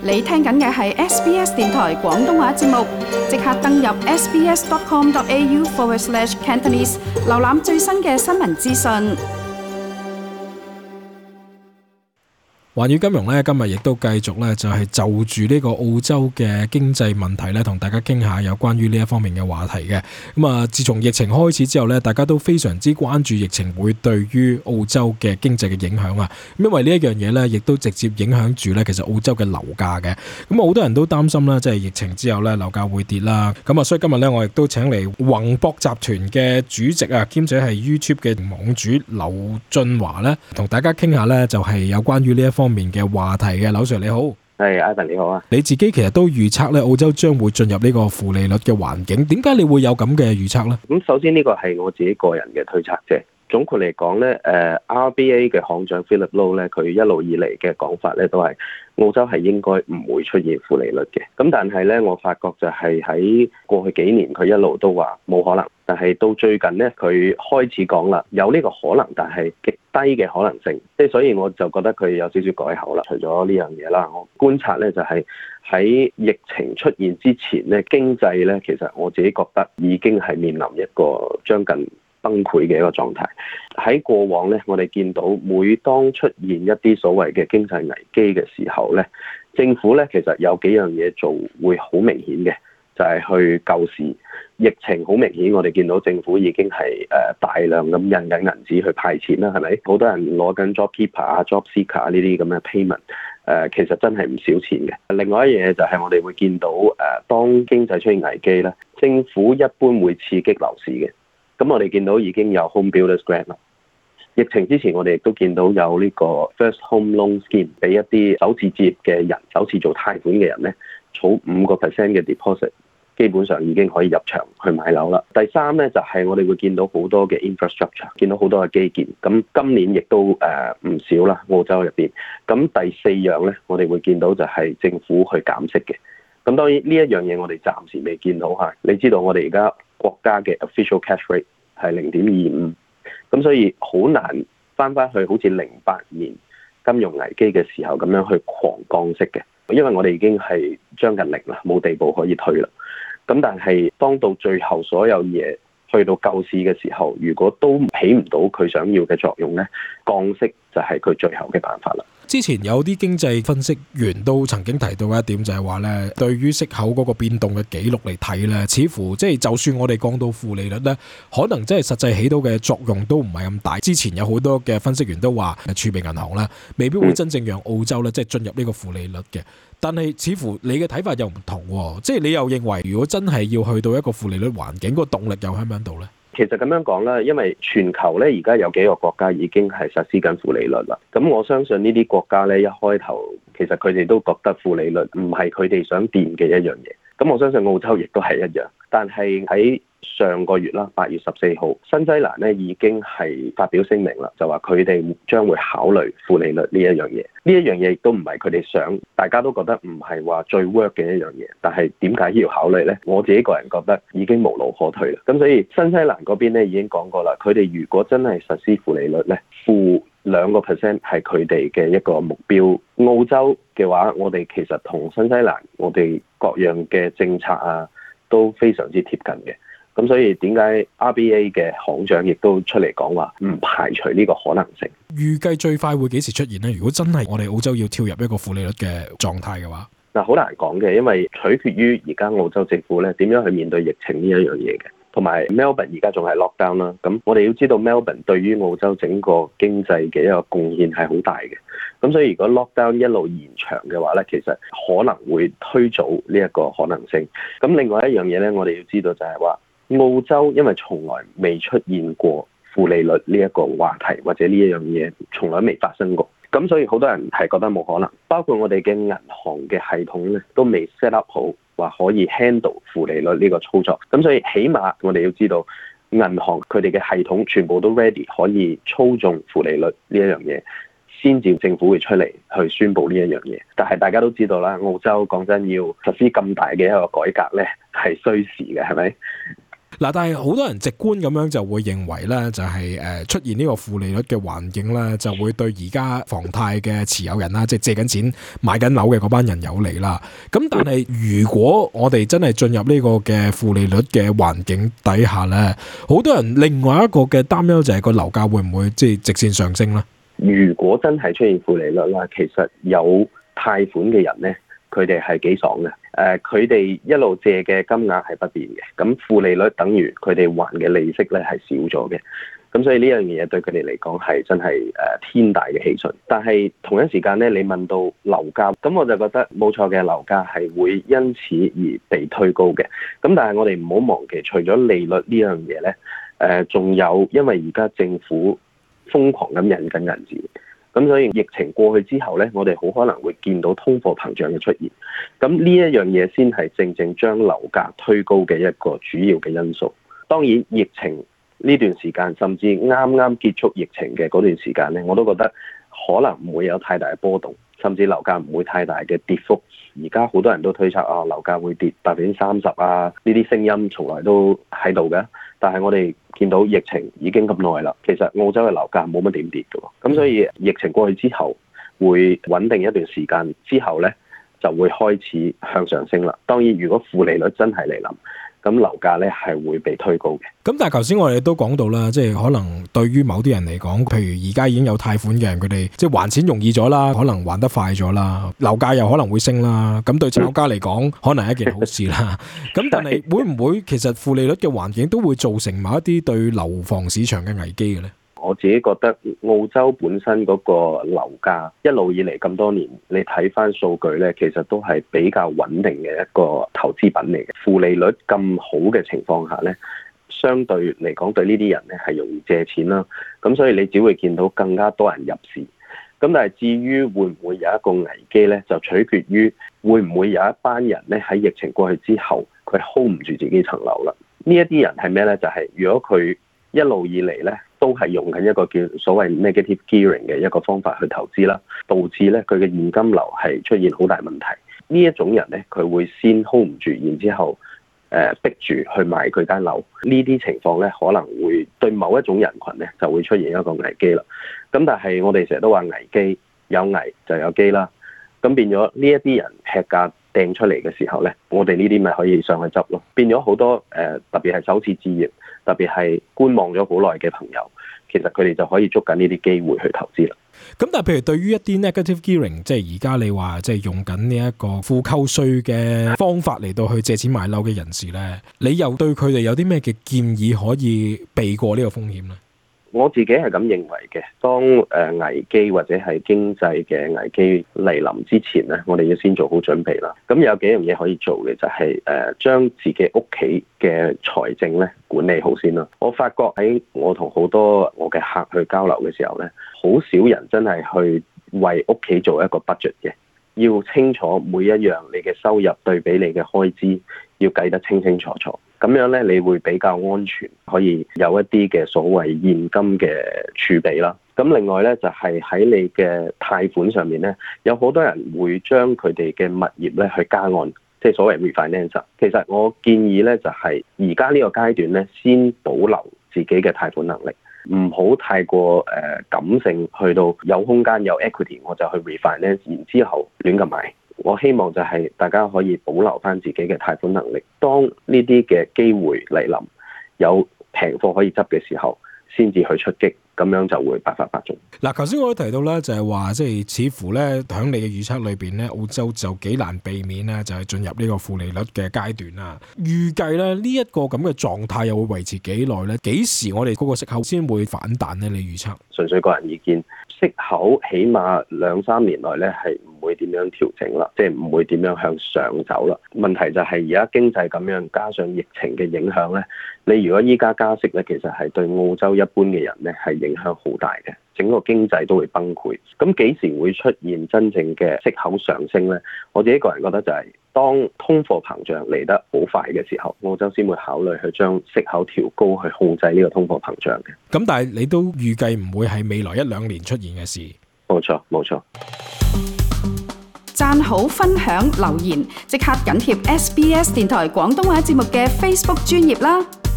你聽緊嘅係 SBS 電台廣東話節目，即刻登入 sbs.com.au/Cantonese 瀏覽最新嘅新聞資訊。 環宇金融咧，今日亦都繼續咧，就係就住呢個澳洲嘅經濟問題咧，同大家傾下有關於呢一方面嘅話題嘅。咁啊，自從疫情開始之後咧，大家都非常之關注疫情會對於澳洲嘅經濟嘅影響啊。因為呢一樣嘢咧，亦都直接影響住咧，其實澳洲嘅樓價嘅。咁好多人都擔心啦，即係疫情之後咧，樓價會跌啦。咁啊，所以今日咧，我亦都請嚟宏博集團嘅主席啊，兼且係 YouTube 嘅網主劉俊華咧，同大家傾下咧，就係有關於呢一方面嘅話題嘅。劉 Sir 你好。 係，Ivan 你好啊。 你自己其實都預測咧，澳洲將會進入呢個負利率嘅環境，點解你會有咁嘅預測呢？ 咁首先呢個係我自己個人嘅推測啫。總括嚟講咧，RBA 嘅行長 Philip Lowe 咧，佢一路以嚟嘅講法咧，都係澳洲係應該唔會出現負利率嘅。咁但係咧，我發覺就係喺過去幾年佢一路都話冇可能，但係到最近咧，佢開始講啦，有呢個可能，但係極低嘅可能性。即係所以我就覺得佢有少少改口啦。除咗呢樣嘢啦，我觀察咧就係喺疫情出現之前咧，經濟咧其實我自己覺得已經係面臨一個將近崩潰嘅一個狀態。喺過往咧，我哋見到每當出現一啲所謂嘅經濟危機嘅時候咧，政府咧其實有幾樣嘢做會好明顯嘅，就係去救市。疫情好明顯，我哋見到政府已經係大量咁印緊銀紙去派錢啦，係咪？好多人攞緊 JobKeeper 啊、JobSeeker 呢啲咁嘅 payment，其實真係唔少錢嘅。另外一樣嘢就係我哋會見到當經濟出現危機咧，政府一般會刺激樓市嘅。咁我哋見到已經有 Home Builders Grant 啦。疫情之前，我哋亦都見到有呢個 First Home Loan Scheme， 俾一啲首次置業嘅人、首次做貸款嘅人咧，儲 5% 嘅 deposit， 基本上已經可以入場去買樓啦。第三咧就係我哋會見到好多嘅 infrastructure， 見到好多嘅基建。咁今年亦都唔少啦，澳洲入邊。咁第四樣咧，我哋會見到就係政府去減息嘅。咁當然呢一樣嘢我哋暫時未見到嚇。你知道我哋而家國家嘅 official cash rate 係 0.25， 咁所以好難翻去好似08年金融危機嘅時候咁樣去狂降息嘅，因為我哋已經係將近零啦，冇地步可以退啦。咁但係當到最後所有嘢去到救市嘅時候，如果都起唔到佢想要嘅作用咧，降息就係佢最後嘅辦法啦。 之前有啲經濟分析員都曾經提到一點，就係話咧，對於息口嗰個變動嘅記錄嚟睇咧，似乎即係就算我哋降到負利率咧，可能真係實際起到嘅作用都唔係咁大。之前有好多嘅分析員都話，儲備銀行咧未必會真正讓澳洲咧即係進入呢個負利率嘅。但係似乎你嘅睇法又唔同喎，即係你又認為如果真係要去到一個負利率環境，個動力又喺唔喺度咧？ 其實咁樣講啦，因為全球咧而家有幾個國家已經係實施緊負利率啦。咁我相信呢啲國家咧一開頭其實佢哋都覺得負利率唔係佢哋想掂嘅一樣嘢。咁我相信澳洲亦都係一樣。但係喺上個月啦，8月14號，新西蘭咧已經係發表聲明啦，就話佢哋將會考慮負利率呢一樣嘢。呢一樣嘢亦都唔係佢哋想，大家都覺得唔係話最 work 嘅一樣嘢。但係點解要考慮呢？我自己個人覺得已經無路可退啦。咁所以新西蘭嗰邊咧已經講過啦，佢哋如果真係實施負利率咧，負2% 係佢哋嘅一個目標。澳洲嘅話，我哋其實同新西蘭我哋各樣嘅政策啊都非常之貼近嘅。咁所以點解 RBA 嘅行長亦都出嚟講話唔排除呢個可能性？ 預計最快會幾時出現呢？如果真係我哋澳洲要跳入一個負利率嘅狀態嘅話， 嗱，好難講嘅，因為取決於而家澳洲政府咧點樣去面對疫情呢一樣嘢嘅，同埋 Melbourne 而家仲係 lockdown 啦。咁我哋要知道 Melbourne 對於澳洲整個經濟嘅一個貢獻係好大嘅。咁所以如果 lockdown 一路延長嘅話咧，其實可能會推早呢一個可能性。咁另外一樣嘢咧，我哋要知道就係話，澳洲因為從來未出現過負利率呢一個話題，或者呢一樣嘢從來未發生過，咁所以好多人係覺得冇可能。包括我哋嘅銀行嘅系統咧，都未 set up 好話可以 handle 負利率呢個操作。咁所以起碼我哋要知道，銀行佢哋嘅系統全部都 ready 可以操縱負利率呢一樣嘢，先至政府會出嚟去宣布呢一樣嘢。但係大家都知道啦，澳洲講真要實施咁大嘅一個改革咧，係需時嘅，係咪？ 嗱，但係好多人直觀咁樣就會認為咧，就係出現呢個負利率嘅環境咧，就會對而家房貸嘅持有人啦，即係借緊錢買緊樓嘅嗰班人有利啦。咁但係如果我哋真係進入呢個嘅負利率嘅環境底下咧，好多人另外一個嘅擔憂就係個樓價會唔會即係直線上升咧？ 如果真係出現負利率啦，其實有貸款嘅人咧，佢哋係幾爽嘅。佢哋一路借嘅金額係不變嘅，咁負利率等於佢哋還嘅利息咧係少咗嘅，咁所以呢樣嘢對佢哋嚟講係真係天大嘅喜訊。但係同一時間咧，你問到樓價，咁我就覺得冇錯嘅，樓價係會因此而被推高嘅。咁但係我哋唔好忘記，除咗利率呢樣嘢咧，仲有因為而家政府瘋狂咁印緊銀紙。咁所以疫情過去之後咧，我哋好可能會見到通貨膨脹嘅出現。咁呢一樣嘢先係正正將樓價推高嘅一個主要嘅因素。當然，疫情呢段時間，甚至啱啱結束疫情嘅嗰段時間咧，我都覺得可能唔會有太大嘅波動，甚至樓價唔會太大嘅跌幅。而家好多人都推測樓價會跌30%啊，呢啲聲音從來都喺度嘅。但係我哋見到疫情已經咁耐啦，其實澳洲嘅樓價冇乜點跌嘅，咁所以疫情過去之後會穩定一段時間之後咧，就會開始向上升啦。當然，如果負利率真係嚟臨，咁樓價咧係會被推高嘅。 咁但係頭先我哋都講到啦，即係可能對於某啲人嚟講，譬如而家已經有貸款嘅人，佢哋即係還錢容易咗啦，可能還得快咗啦，樓價又可能會升啦。咁對炒家嚟講，可能係一件好事啦。咁但係會唔會其實負利率嘅環境都會造成某一啲對樓房市場嘅危機嘅咧？ 我自己覺得澳洲本身嗰個樓價一路以嚟咁多年，你睇翻數據咧，其實都係比較穩定嘅一個投資品嚟嘅。負利率咁好嘅情況下咧，相對嚟講對呢啲人咧係容易借錢啦。咁所以你只會見到更加多人入市。咁但係至於會唔會有一個危機咧，就取決於會唔會有一班人咧喺疫情過去之後，佢 hold 唔住自己層樓啦。呢一啲人係咩咧？就係如果佢一路以嚟咧，都係用緊一個叫所謂 negative gearing 嘅一個方法去投資啦，導致咧佢嘅現金流係出現好大問題。呢一種人咧，佢會先 hold 唔住，然之後逼住去賣佢間樓。呢啲情況咧，可能會對某一種人群咧就會出現一個危機啦。咁但係我哋成日都話危機有危就有機啦。咁變咗呢一啲人劈價掟出嚟嘅時候咧，我哋呢啲咪可以上去執咯。變咗好多特別係首次置業，特別係觀望咗好耐嘅朋友，其實佢哋就可以捉緊呢啲機會去投資啦。 咁但係譬如對於一啲 negative gearing， 即係而家你話即係用緊呢一個負扣稅嘅方法嚟到去借錢買樓嘅人士咧，你又對佢哋有啲咩嘅建議可以避過呢個風險咧？ 我自己係咁認為嘅，當危機或者係經濟嘅危機嚟臨之前咧，我哋要先做好準備啦。咁有幾樣嘢可以做嘅，就係將自己屋企嘅財政咧管理好先啦。我發覺喺我同好多我嘅客去交流嘅時候咧，好少人真係去為屋企做一個 budget 嘅，要清楚每一樣你嘅收入對比你嘅開支，要計得清清楚楚。咁樣咧，你會比較安全，可以有一啲嘅所謂現金嘅儲備啦。咁另外咧，就係喺你嘅貸款上面咧，有好多人會將佢哋嘅物業咧去加按，即係所謂 refinance。其實我建議咧，就係而家呢個階段咧，先保留自己嘅貸款能力，唔好太過感性，去到有空間有 equity 我就去 refinance，然之後亂咁買。我希望就係大家可以保留翻自己嘅貸款能力，當呢啲嘅機會嚟臨，有平貨可以執嘅時候，先至去出擊，咁樣就會百發百中。 嗱，頭先我都提到咧，就係話即係似乎咧，喺你嘅預測裏邊咧，澳洲就幾難避免咧，就係進入呢個負利率嘅階段啦。預計咧呢一個咁嘅狀態又會維持幾耐咧？幾時我哋嗰個息口先會反彈咧？你預測？純粹個人意見，息口起碼2-3年內咧係唔會點樣調整啦，即係唔會點樣向上走啦。問題就係而家經濟咁樣，加上疫情嘅影響咧，你如果依家加息咧，其實係對澳洲一般嘅人咧係影響好大嘅，整個經濟都會崩潰。咁幾時會出現真正嘅息口上升咧？我自己個人覺得就係當通貨膨脹嚟得好快嘅時候，澳洲先會考慮去將息口調高去控制呢個通貨膨脹嘅。 咁但係你都預計唔會係未來1-2年出現嘅事。 冇錯，冇錯。 讚好、分享、留言，即刻緊貼SBS 電台廣東話節目嘅 Facebook 專頁啦！